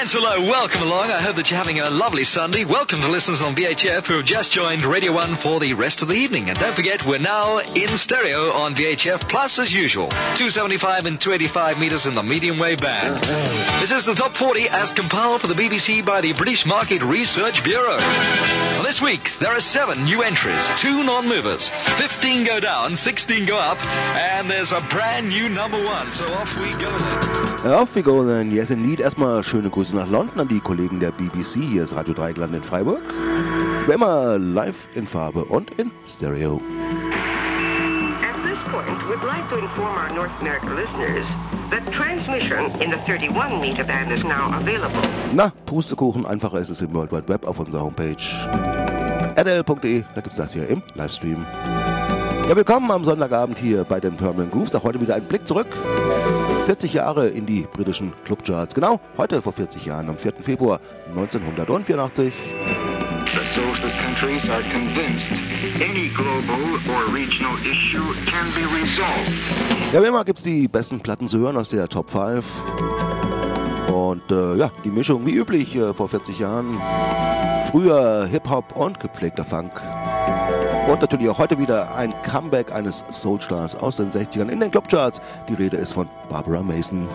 Friends, hello, welcome along. I hope that you're having a lovely Sunday. Welcome to listeners on VHF who have just joined Radio 1 for the rest of the evening. And don't forget, we're now in stereo on VHF Plus as usual. 275 and 285 meters in the medium wave band. This is the top 40 as compiled for the BBC by the British Market Research Bureau. Well, this week, there are 7 new entries, 2 non-movers, 15 go down, 16 go up, and there's a brand new number 1. So off we go then. Off we go then. Yes, indeed. Erstmal schöne Grüße nach London an die Kollegen der BBC. Hier ist Radio Dreieckland in Freiburg. Wie immer live in Farbe und in Stereo. At this point, we'd like to inform our North American listeners that transmission in the 31 meter band is now available. Na, Pustekuchen, einfacher ist es im World Wide Web auf unserer Homepage rl.de. Da gibt's das hier im Livestream. Ja, willkommen am Sonntagabend hier bei den Permanent Grooves. Auch heute wieder ein Blick zurück. 40 Jahre in die britischen Clubcharts. Genau, heute vor 40 Jahren, am 4. Februar 1984. The socialist countries are convinced any global or regional issue can be resolved. Ja, wie immer gibt's die besten Platten zu hören aus der Top 5. Und ja, die Mischung wie üblich vor 40 Jahren. Früher Hip-Hop und gepflegter Funk. Und natürlich auch heute wieder ein Comeback eines Soulstars aus den 60ern in den Clubcharts. Die Rede ist von Barbara Mason.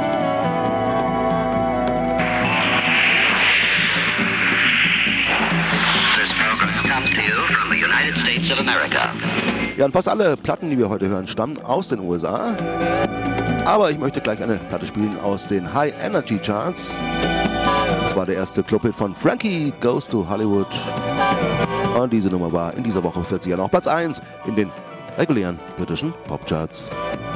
This program comes to you from the United States of America. Ja, und fast alle Platten, die wir heute hören, stammen aus den USA. Aber ich möchte gleich eine Platte spielen aus den High Energy Charts. Das war der erste Clubhit von Frankie Goes to Hollywood. Und diese Nummer war in dieser Woche vor 40 Jahren auch Platz 1 in den regulären britischen Popcharts.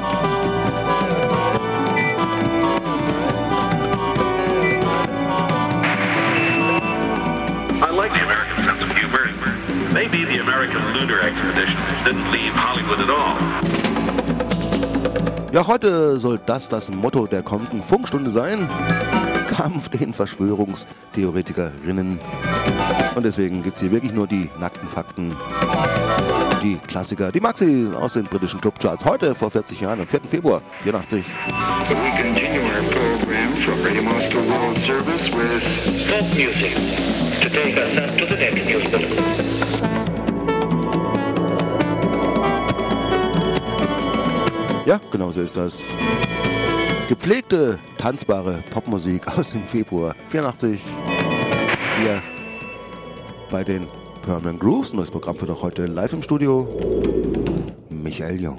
I like the American sense of humor. Maybe the American lunar expedition didn't leave Hollywood at all. Ja, heute soll das Motto der kommenden Funkstunde sein. Kampf den Verschwörungstheoretikerinnen. Und deswegen gibt es hier wirklich nur die nackten Fakten. Die Klassiker, die Maxis aus den britischen Clubcharts. Heute vor 40 Jahren, am 4. Februar 84. So we continue our program from Radio Moscow World Service with Pop music to take us up to the next news bulletin. Ja, genau so ist das. Gepflegte, tanzbare Popmusik aus dem Februar 84. Hier bei den Permanent Grooves. Neues Programm für doch heute live im Studio. Michael Jung.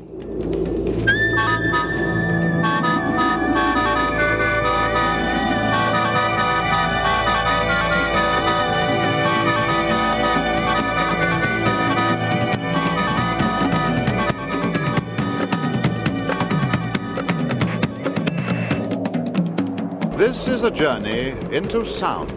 This is a journey into sound.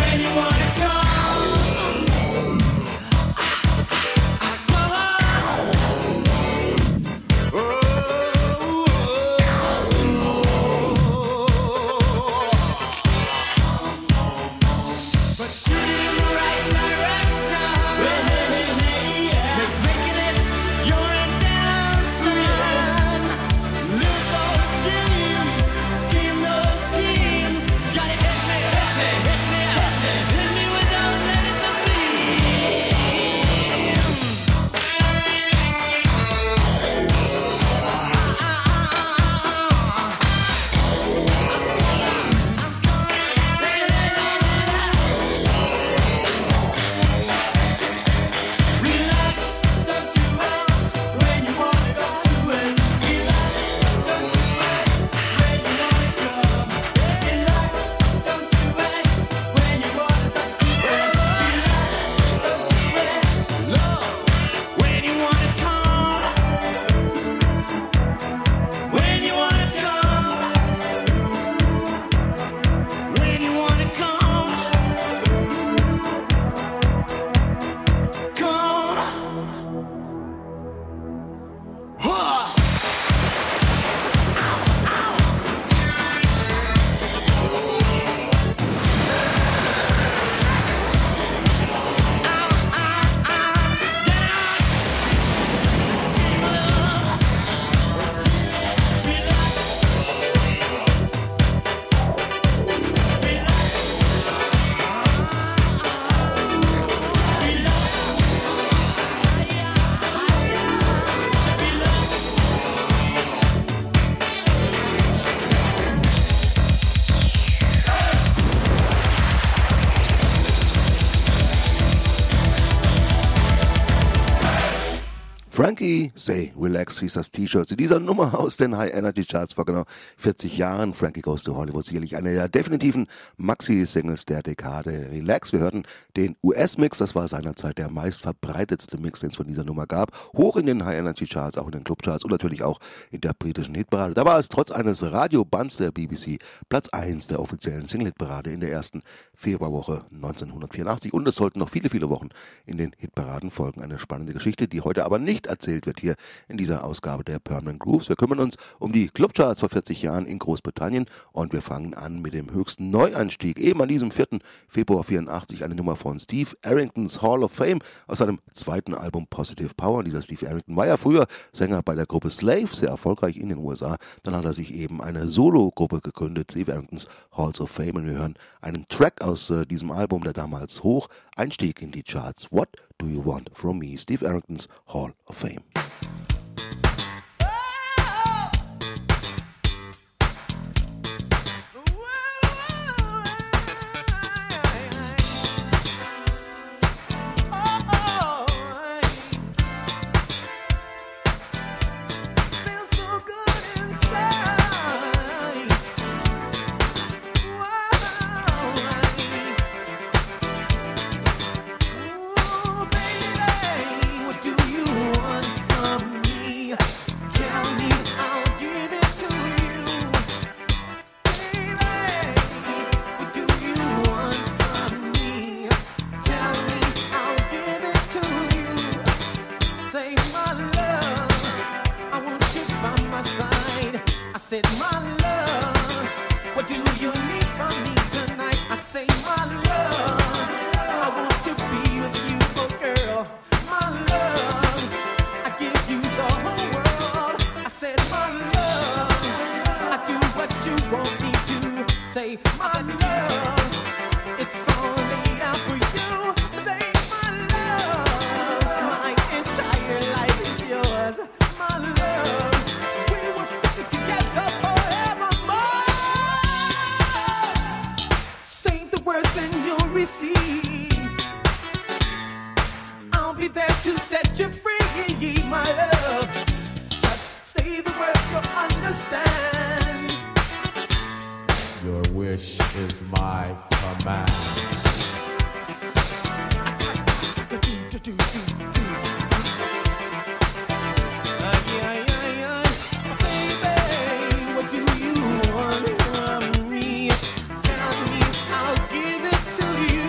Frankie Say Relax hieß das T-Shirt zu dieser Nummer aus den High Energy Charts vor genau 40 Jahren. Frankie Goes to Hollywood, sicherlich eine der definitiven Maxi-Singles der Dekade. Relax, wir hörten den US-Mix, das war seinerzeit der meistverbreitetste Mix, den es von dieser Nummer gab. Hoch in den High Energy Charts, auch in den Clubcharts und natürlich auch in der britischen Hitparade. Da war es trotz eines Radiobands der BBC Platz 1 der offiziellen Single-Hitparade in der ersten Februarwoche 1984 und es sollten noch viele, viele Wochen in den Hitparaden folgen. Eine spannende Geschichte, die heute aber nicht erzählt wird hier in dieser Ausgabe der Permanent Grooves. Wir kümmern uns um die Clubcharts vor 40 Jahren in Großbritannien und wir fangen an mit dem höchsten Neueinstieg. Eben an diesem 4. Februar 84 eine Nummer von Steve Arringtons Hall of Fame aus seinem zweiten Album Positive Power. Und dieser Steve Arrington war ja früher Sänger bei der Gruppe Slave, sehr erfolgreich in den USA. Dann hat er sich eben eine Solo-Gruppe gegründet, Steve Arringtons Halls of Fame. Und wir hören einen Track aus diesem Album, der damals hoch einstieg in die Charts. What Do You Want From Me? Steve Arringtons Hall of Fame. To you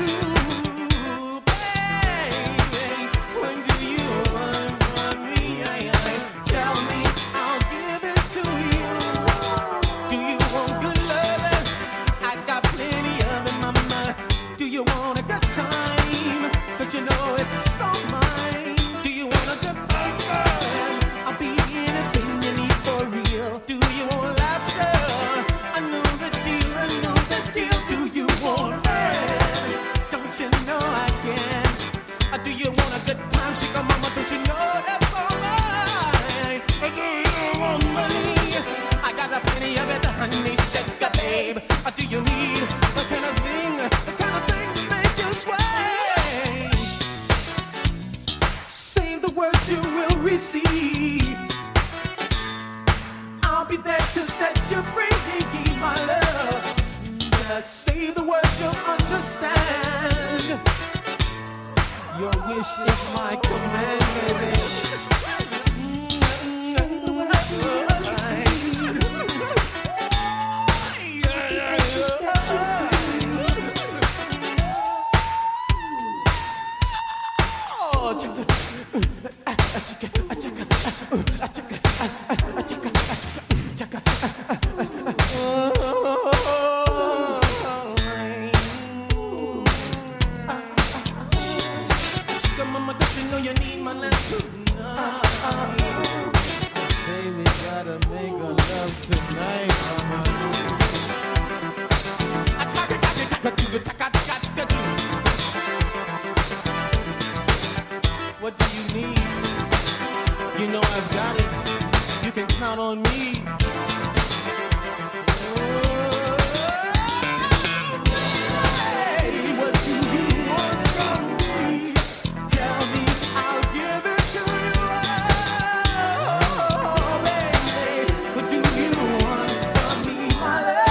you want a good time? Don't you know it's all mine? Do you want a good boyfriend? I'll be anything you need for real. Do you want laughter? I know the deal, I know the deal. Do you want it? Don't you know I can? Do you want a good time? Shake a mama, don't you know that's all right? Do you want money? I got a plenty of it, honey, shake a babe. Do you need the kind of thing to make you sway? Say the words you will receive. I'll be there to set you free, my love. Just say the words you'll understand. Your wish is my command, baby. What do you need? You know I've got it. You can count on me. Hey, what do you want from me? Tell me, I'll give it to you. Oh, baby, what do you want from me, my love?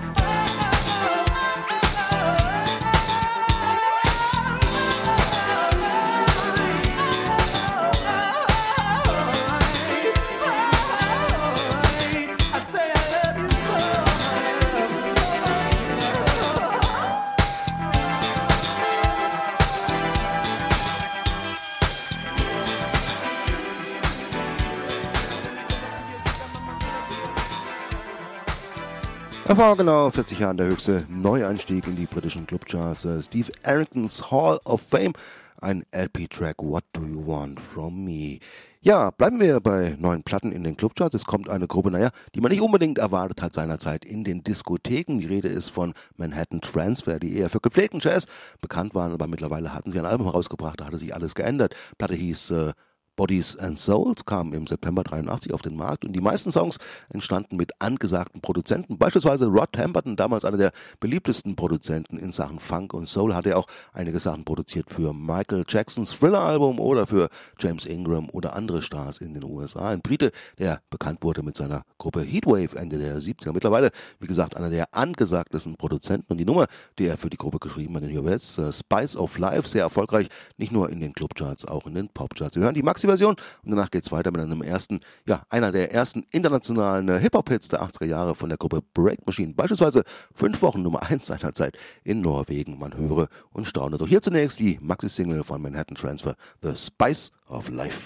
Er war genau 40 Jahren der höchste Neueinstieg in die britischen Clubcharts. Steve Arringtons Hall of Fame, ein LP-Track What Do You Want From Me. Ja, bleiben wir bei neuen Platten in den Clubcharts. Es kommt eine Gruppe, die man nicht unbedingt erwartet hat seinerzeit in den Diskotheken. Die Rede ist von Manhattan Transfer, die eher für gepflegten Jazz bekannt waren, aber mittlerweile hatten sie ein Album rausgebracht, da hatte sich alles geändert. Die Platte hieß Bodies and Souls, kam im September 83 auf den Markt und die meisten Songs entstanden mit angesagten Produzenten, beispielsweise Rod Temperton, damals einer der beliebtesten Produzenten in Sachen Funk und Soul, hat er auch einige Sachen produziert für Michael Jacksons Thriller-Album oder für James Ingram oder andere Stars in den USA. Ein Brite, der bekannt wurde mit seiner Gruppe Heatwave Ende der 70er. Mittlerweile, wie gesagt, einer der angesagtesten Produzenten und die Nummer, die er für die Gruppe geschrieben hat, in US, Spice of Life, sehr erfolgreich, nicht nur in den Clubcharts, auch in den Popcharts. Wir hören die Maxi-Version und danach geht es weiter mit einer der ersten internationalen Hip-Hop-Hits der 80er Jahre von der Gruppe Break Machine, beispielsweise 5 Wochen Nummer 1 seinerzeit in Norwegen. Man höre und staune. Doch hier zunächst die Maxi-Single von Manhattan Transfer, The Spice of Life.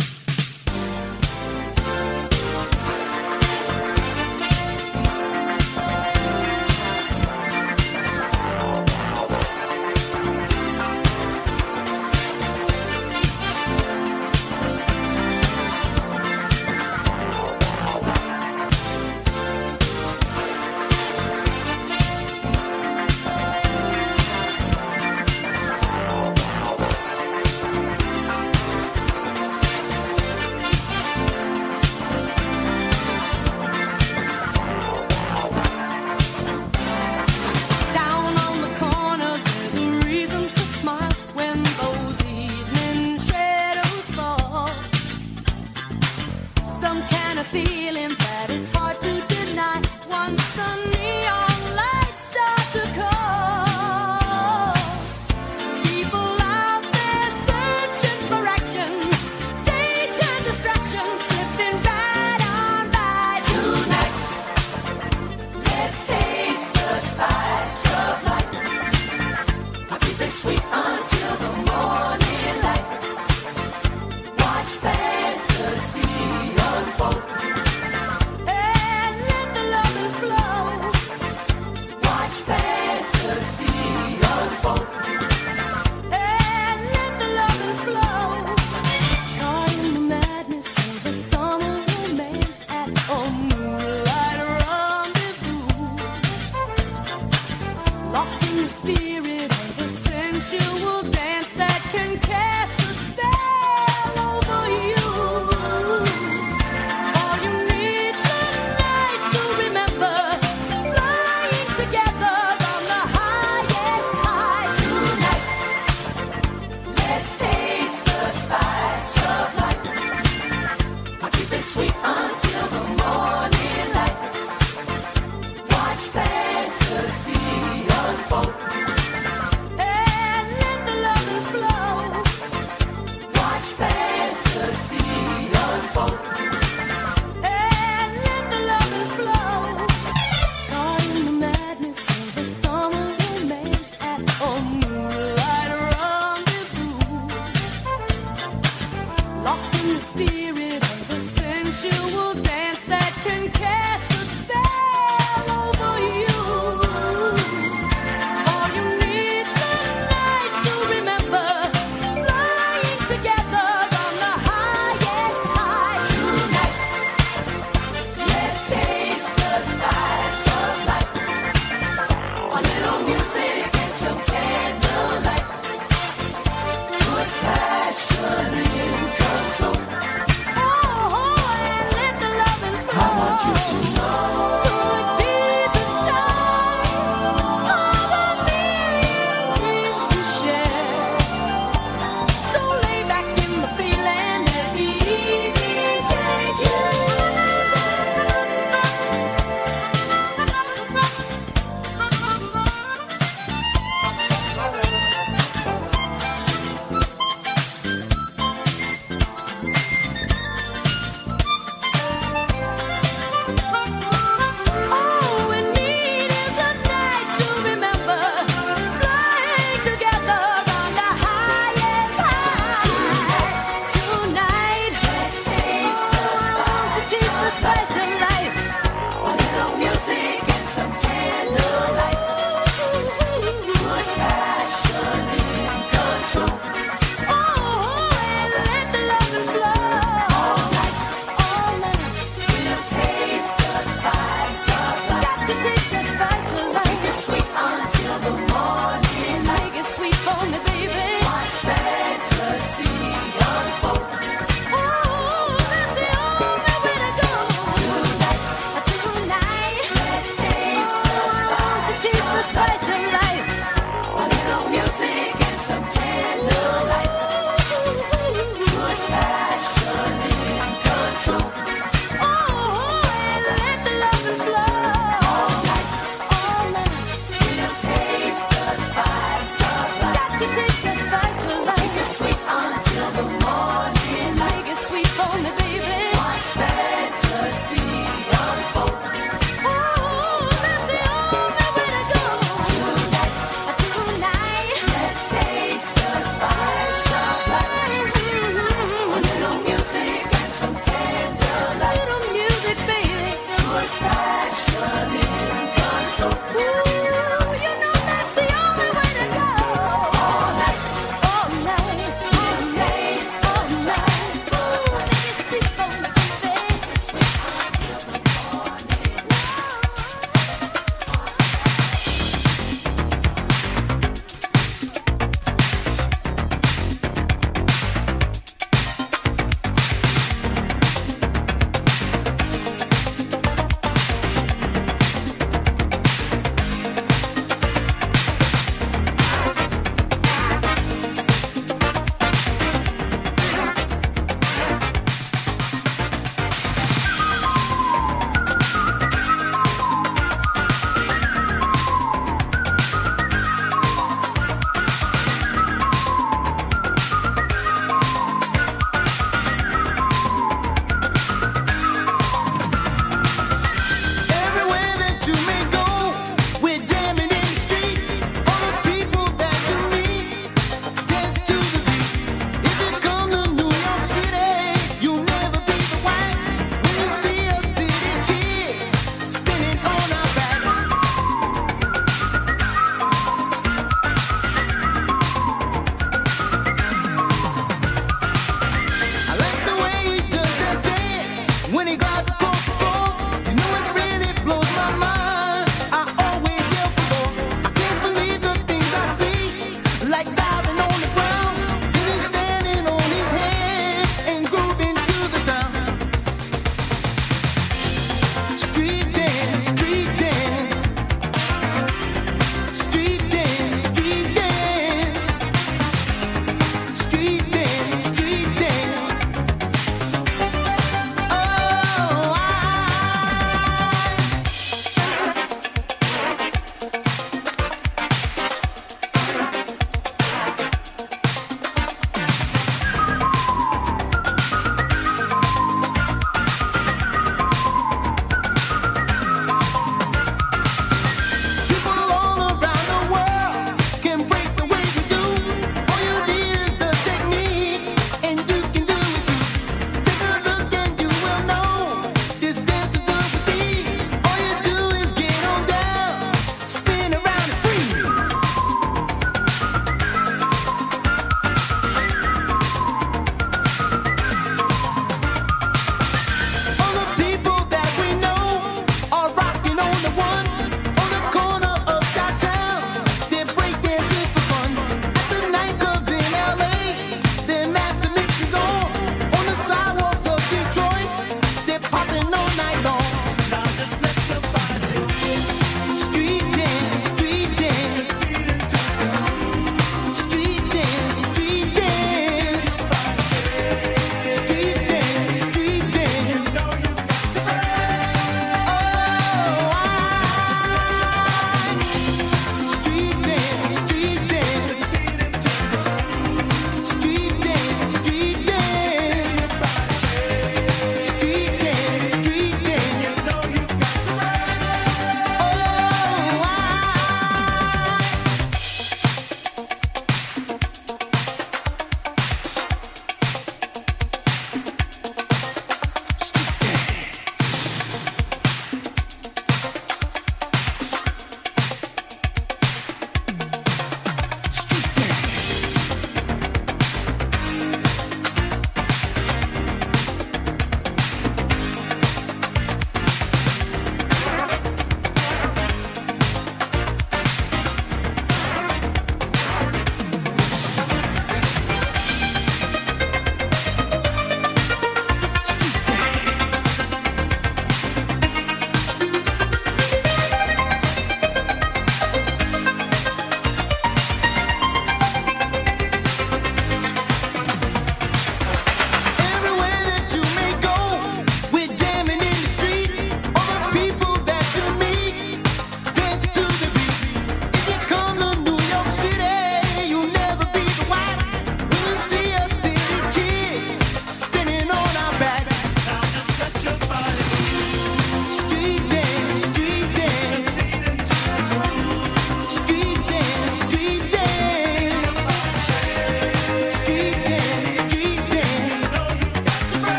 Sweet until the morning light. Watch fantasy unfold and let the loving flow. Watch fantasy unfold. spirit of a sensual dance that can cast a spell over you. All you need tonight to remember, flying together on the highest high tonight. Let's taste the spice of life. I'll keep it sweet until the morning light. Watch fantasy unfold and let the loving flow. Watch fantasy unfold and let the loving flow. Caught in the madness of a summer romance at a moonlight rendezvous. Lost in the spirit of a sensual dance that can cast a spell over you. All you need tonight to remember, flying together on the highest high tonight. Let's taste the spice of life. A little music and some candlelight. Put passion in control. Oh, and let the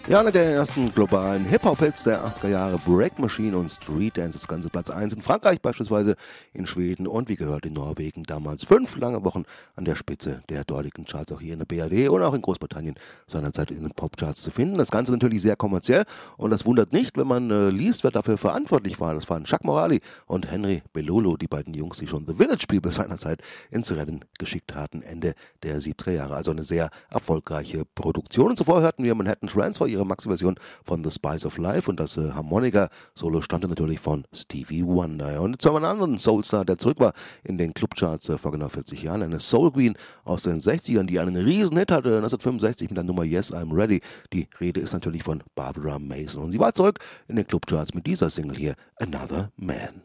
Ja, einer der ersten globalen Hip-Hop-Hits der 80er Jahre, Break Machine und Street Dance, das ganze Platz 1 in Frankreich beispielsweise, in Schweden und wie gehört in Norwegen. Damals 5 lange Wochen an der Spitze der dortigen Charts, auch hier in der BRD und auch in Großbritannien seinerzeit in den Popcharts zu finden. Das Ganze natürlich sehr kommerziell und das wundert nicht, wenn man liest, wer dafür verantwortlich war. Das waren Chuck Morali und Henry Belolo, die beiden Jungs, die schon The Village People seinerzeit ins Rennen geschickt hatten, Ende der 70er Jahre. Also eine sehr erfolgreiche Produktion. Und zuvor hörten wir Manhattan Transfer, ihre Maxi-Version von The Spice of Life, und das Harmonika-Solo stammte natürlich von Stevie Wonder. Und jetzt haben wir einen anderen Soulstar, der zurück war in den Clubcharts vor genau 40 Jahren, eine Soul Queen aus den 60ern, die einen riesen Hit hatte, 1965 mit der Nummer Yes, I'm Ready. Die Rede ist natürlich von Barbara Mason und sie war zurück in den Clubcharts mit dieser Single hier, Another Man.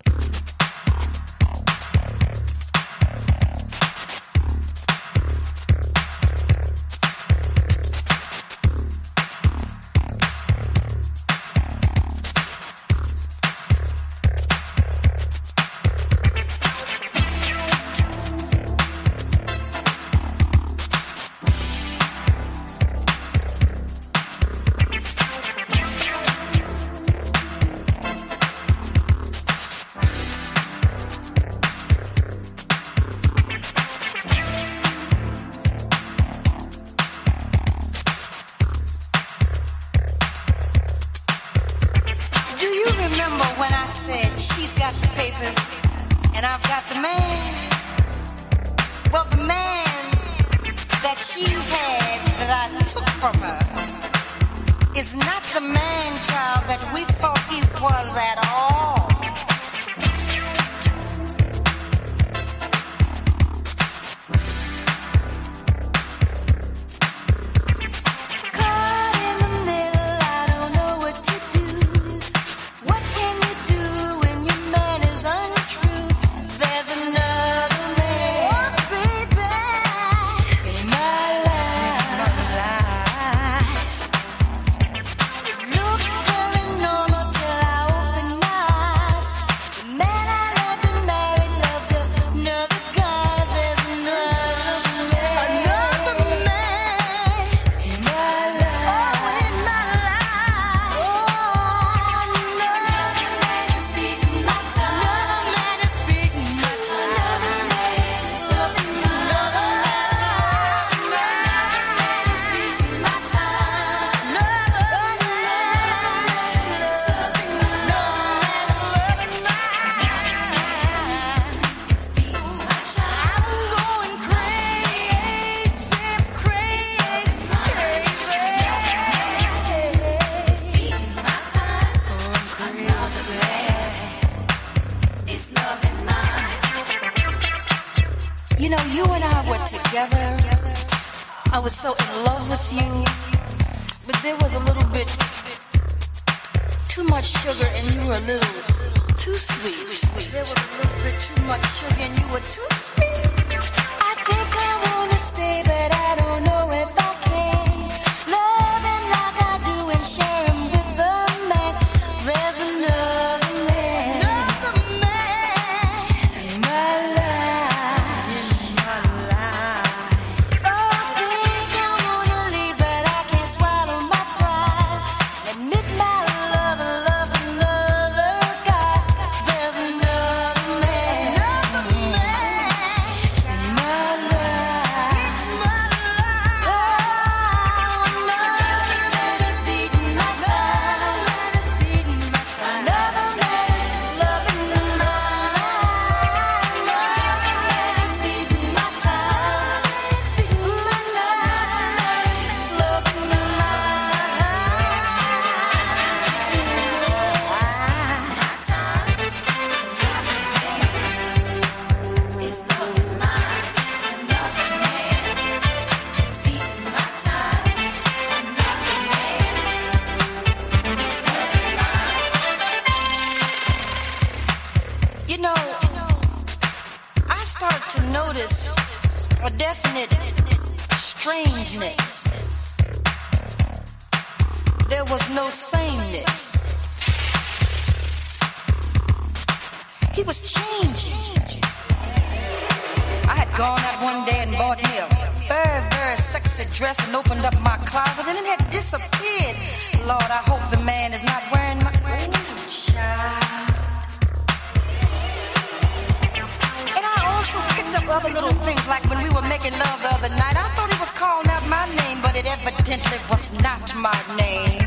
A definite strangeness. There was no sameness. He was changing. I had gone out one day and bought me very, very sexy dress and opened up my closet and it had disappeared. Lord, I hope the man is not wearing my... Ooh, child. And I also picked up other little things like when we were making love the other night. I thought he was calling out my name, but it evidently was not my name.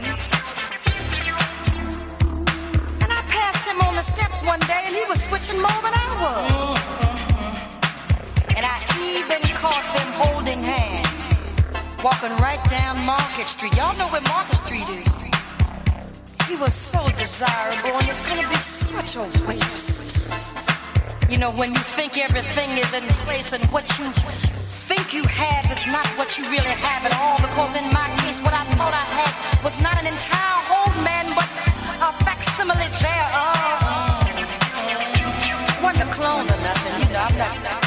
And I passed him on the steps one day and he was switching more than I was. And I even caught them holding hands, walking right down Market Street. Y'all know where Market Street is. He was so desirable, and it's gonna be such a waste. You know, when you think everything is in place and what you think you have is not what you really have at all, because in my case, what I thought I had was not an entire whole man, but a facsimile thereof. Wasn't a clone or nothing, you know, I'm not...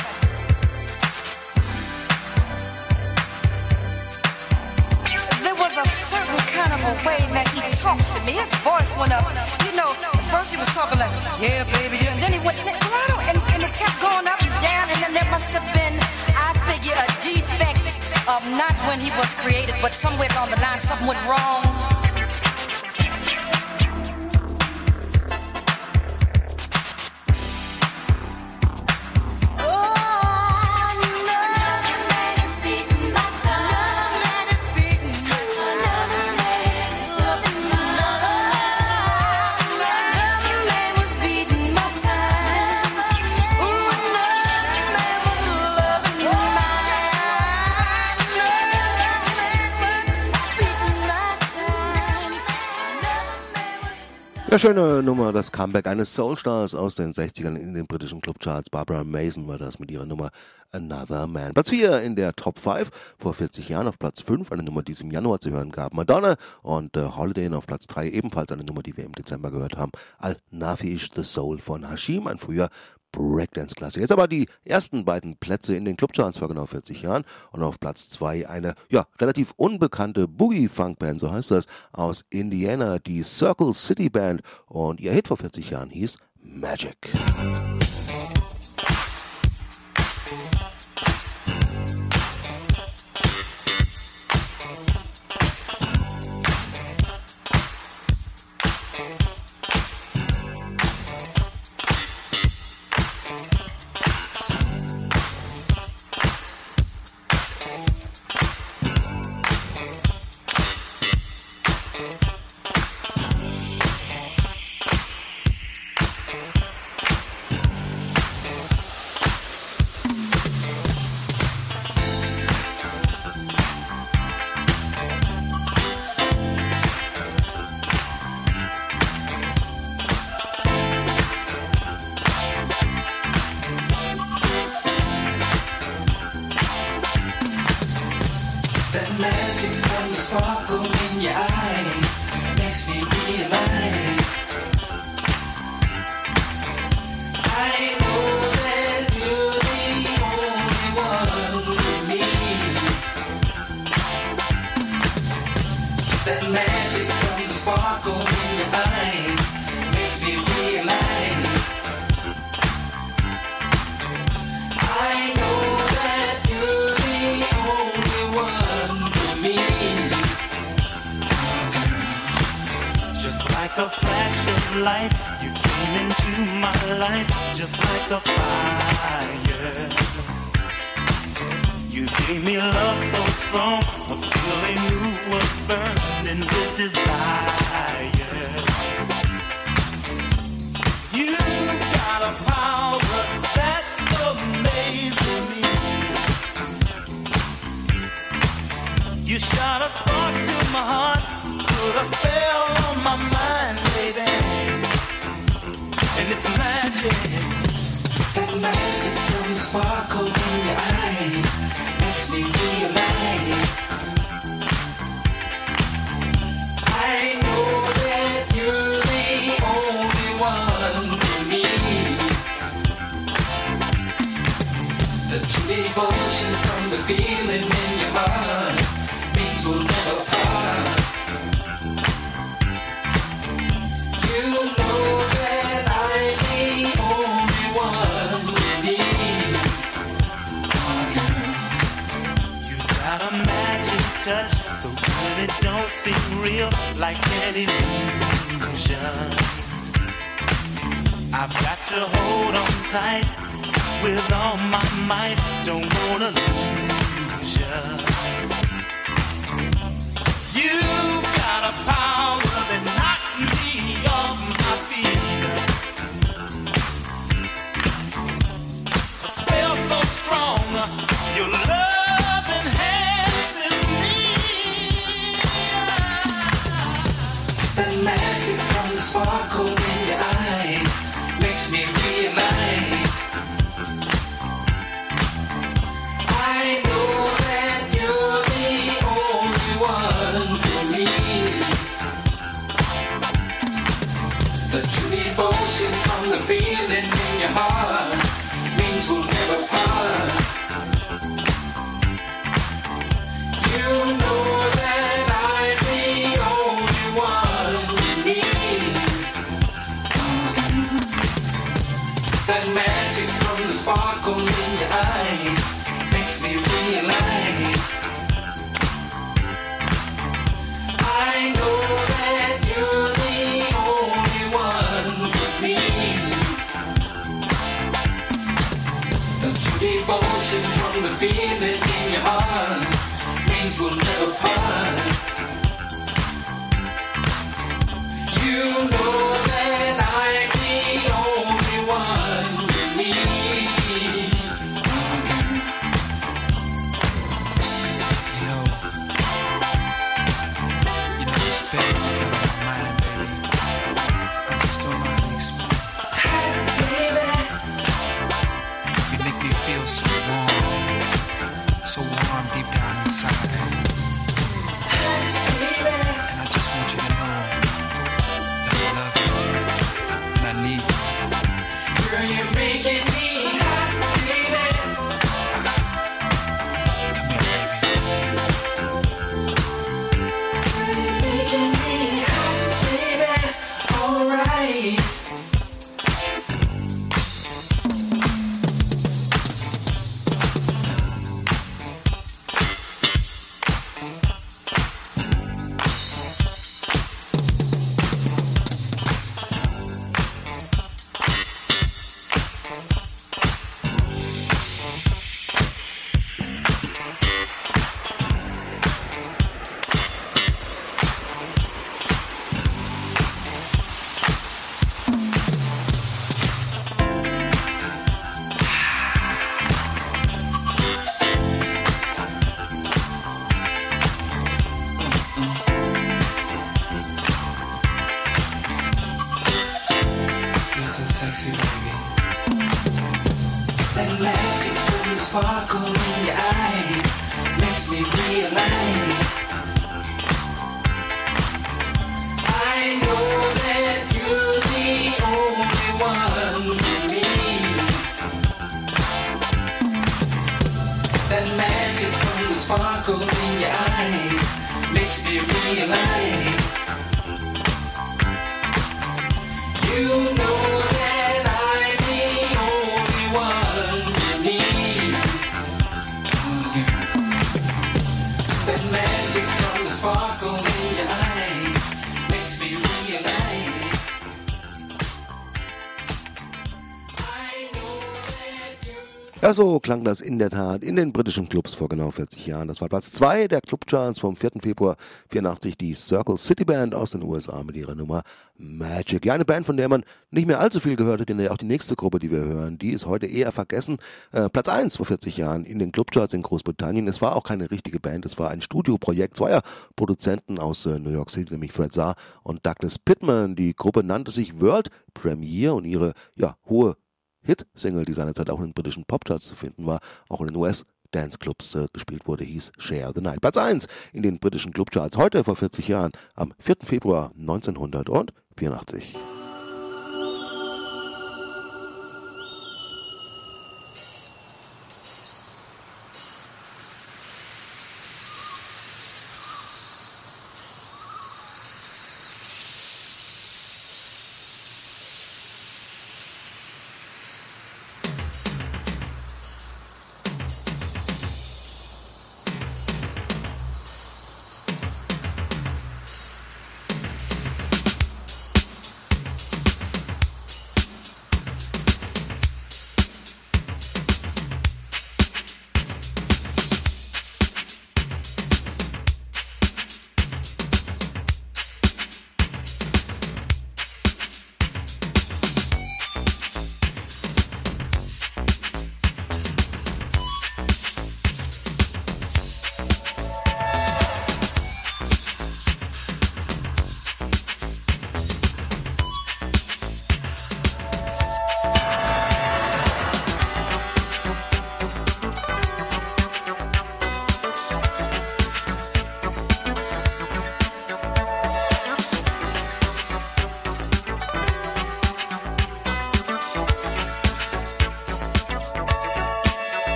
a certain kind of a way that he talked to me. His voice went up. You know, at first he was talking like, yeah, baby, yeah. And then he went, and it kept going up and down. And then there must have been, I figure, a defect of not when he was created, but somewhere along the line something went wrong. Ja, schöne Nummer, das Comeback eines Soulstars aus den 60ern in den britischen Clubcharts. Barbara Mason war das mit ihrer Nummer Another Man. Platz 4 in der Top 5, vor 40 Jahren auf Platz 5, eine Nummer, die es im Januar zu hören gab. Madonna und Holiday Inn auf Platz 3, ebenfalls eine Nummer, die wir im Dezember gehört haben. Al-Nafish, The Soul von Hashim, ein früher Breakdance-Klasse. Jetzt aber die ersten beiden Plätze in den Clubcharts vor genau 40 Jahren und auf Platz 2 eine, ja, relativ unbekannte Boogie-Funk-Band, so heißt das, aus Indiana, die Circle City Band, und ihr Hit vor 40 Jahren hieß Magic. world seem real like an illusion. I've got to hold on tight with all my might. Don't wanna lose ya. You've got a power that knocks me off my feet. A spell so strong, your love enhances me. That magic from the sparkle in your eyes makes me realize I know that you're the only one for me. The true devotion from the feeling in your heart means we'll never part. You know that I'm the only one you need. That magic from the sparkle in your eyes makes me realize I know that you're the only one for me. The true devotion from the feeling in your heart means we'll never part. You know that I'm the only one you need. You know, this baby in my mind, baby. I just don't know how to explain. You make me feel so warm deep down inside. And I just want you to know that I love you and I need you. Girl, you're making me hot, baby. Come here, baby. Girl, you're making me hot, baby. Alright. You're so sexy, baby. That magic from the sparkle in your eyes makes me realize I know that you're the only one for me. That magic from the sparkle in your eyes makes me realize you know that I'm the only one you need. That magic from the sparkle in your eyes makes me realize I know that you. Ja, so klang das in der Tat in den britischen Clubs vor genau 40 Jahren. Das war Platz 2 der Clubcharts vom 4. Februar 84, die Circle City Band aus den USA mit ihrer Nummer Magic. Ja, eine Band, von der man nicht mehr allzu viel gehört hat, denn ja auch die nächste Gruppe, die wir hören, die ist heute eher vergessen. Platz 1 vor 40 Jahren in den Clubcharts in Großbritannien. Es war auch keine richtige Band, es war ein Studioprojekt zweier Produzenten aus New York City, nämlich Fred Zarr und Douglas Pittman. Die Gruppe nannte sich World Premiere und ihre hohe Hit-Single, die seinerzeit auch in den britischen Popcharts zu finden war, auch in den US-Dance-Clubs gespielt wurde, hieß Share the Night. Platz 1 in den britischen Clubcharts heute vor 40 Jahren, am 4. Februar 1984.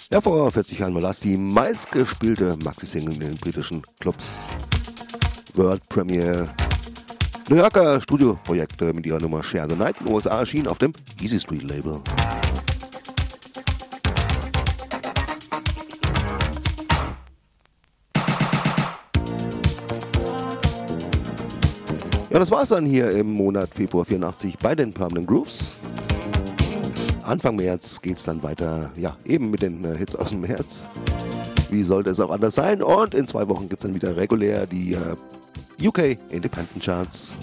Ja, vor 40 Jahren war das die meistgespielte Maxi-Single in den britischen Clubs. World Premiere. New Yorker Studioprojekte mit ihrer Nummer Share the Night in den USA erschien auf dem Easy Street Label. Ja, das war's dann hier im Monat Februar 84 bei den Permanent Grooves. Anfang März geht's dann weiter, ja, eben mit den Hits aus dem März. Wie sollte es auch anders sein? Und in 2 Wochen gibt's dann wieder regulär die UK Independent Charts.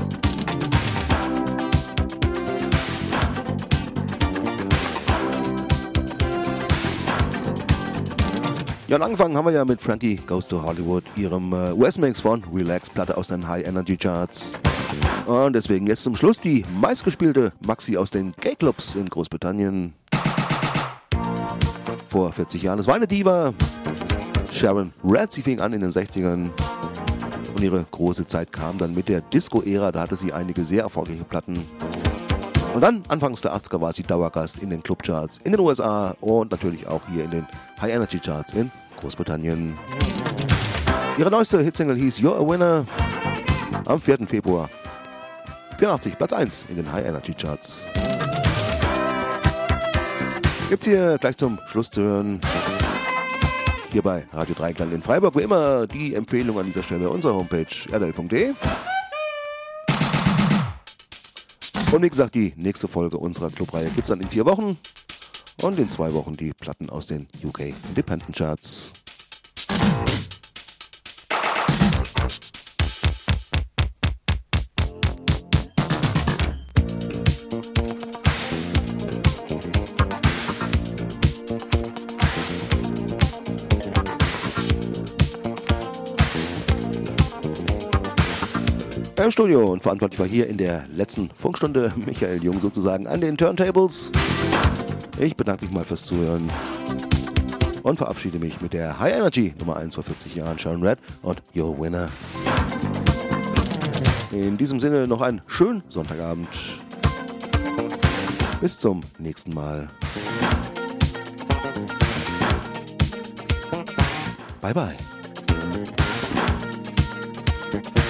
Ja, und angefangen haben wir ja mit Frankie Goes to Hollywood, ihrem US-Mix von Relax-Platte aus den High Energy Charts. Und deswegen jetzt zum Schluss die meistgespielte Maxi aus den Gay-Clubs in Großbritannien. Vor 40 Jahren. Es war eine Diva, Sharon Redd. Sie fing an in den 60ern. Und ihre große Zeit kam dann mit der Disco-Ära. Da hatte sie einige sehr erfolgreiche Platten. Und dann, anfangs der 80er, war sie Dauergast in den Clubcharts in den USA und natürlich auch hier in den High Energy Charts in Großbritannien. Ihre neueste Hitsingle hieß You're a Winner. Am 4. Februar 84, Platz 1 in den High Energy Charts. Gibt's hier gleich zum Schluss zu hören. Hier bei Radio Dreiklang in Freiburg. Wie immer die Empfehlung an dieser Stelle unserer Homepage rdl.de. Und wie gesagt, die nächste Folge unserer Clubreihe gibt's dann in 4 Wochen. Und in 2 Wochen die Platten aus den UK Independent Charts. Im Studio und verantwortlich war hier in der letzten Funkstunde Michael Jung sozusagen an den Turntables. Ich bedanke mich mal fürs Zuhören und verabschiede mich mit der High Energy Nummer 1 vor 40 Jahren, Sharon Redd und You're a Winner. In diesem Sinne noch einen schönen Sonntagabend. Bis zum nächsten Mal. Bye bye.